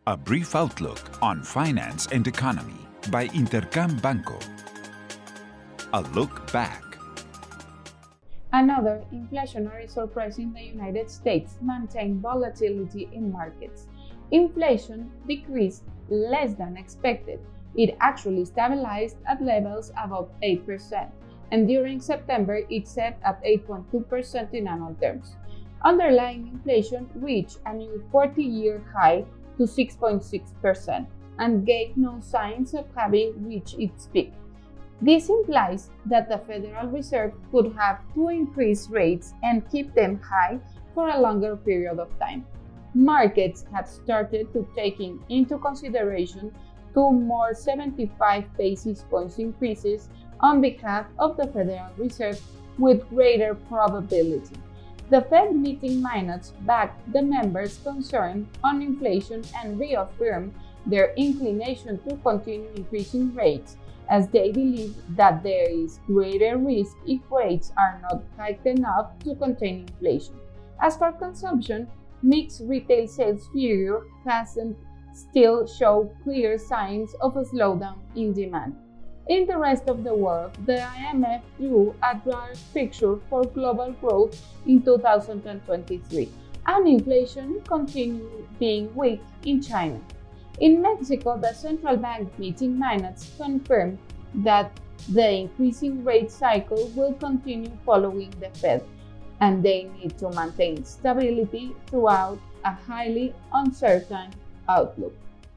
A brief outlook on finance and economy by Intercam Banco. A look back. Another inflationary surprise in the United States maintained volatility in markets. Inflation decreased less than expected. It actually stabilized at levels above 8%, and during September it set at 8.2% in annual terms. Underlying inflation reached a new 40-year high to 6.6% and gave no signs of having reached its peak. This implies that the Federal Reserve could have to increase rates and keep them high for a longer period of time. Markets have started to take into consideration two more 75 basis points increases on behalf of the Federal Reserve with greater probability. The Fed meeting minutes backed the members' concern on inflation and reaffirmed their inclination to continue increasing rates, as they believe that there is greater risk if rates are not hiked enough to contain inflation. As for consumption, mixed retail sales figure hasn't still show clear signs of a slowdown in demand. In the rest of the world, the IMF drew a dark picture for global growth in 2023, and inflation continued being weak in China. In Mexico, the central bank meeting minutes confirmed that the increasing rate cycle will continue following the Fed, and they need to maintain stability throughout a highly uncertain outlook.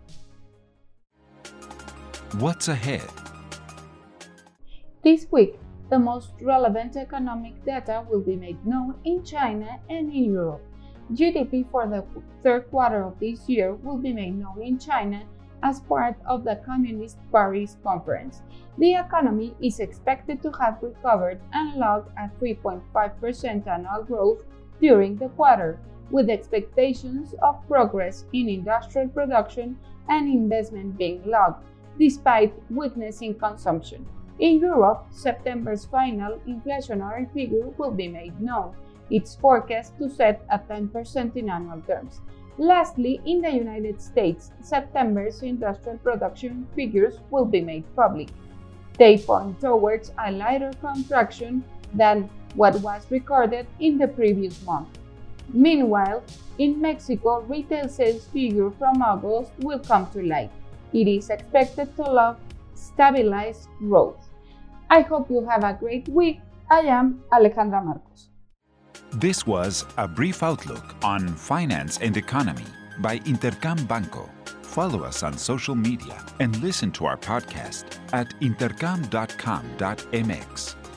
What's ahead? This week, the most relevant economic data will be made known in China and in Europe. GDP for the third quarter of this year will be made known in China as part of the Communist Paris Conference. The economy is expected to have recovered and log a 3.5% annual growth during the quarter, with expectations of progress in industrial production and investment being logged, despite weakness in consumption. In Europe, September's final inflationary figure will be made known. It's forecast to set at 10% in annual terms. Lastly, in the United States, September's industrial production figures will be made public. They point towards a lighter contraction than what was recorded in the previous month. Meanwhile, in Mexico, retail sales figure from August will come to light. It is expected to log stabilized growth. I hope you have a great week. I am Alejandra Marcos. This was a brief outlook on finance and economy by Intercam Banco. Follow us on social media and listen to our podcast at intercam.com.mx.